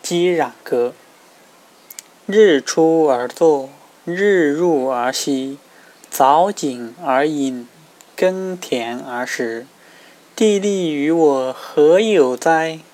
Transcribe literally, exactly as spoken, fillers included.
击壤歌。日出而作，日入而息，早景而饮，耕田而食。地利与我何有哉？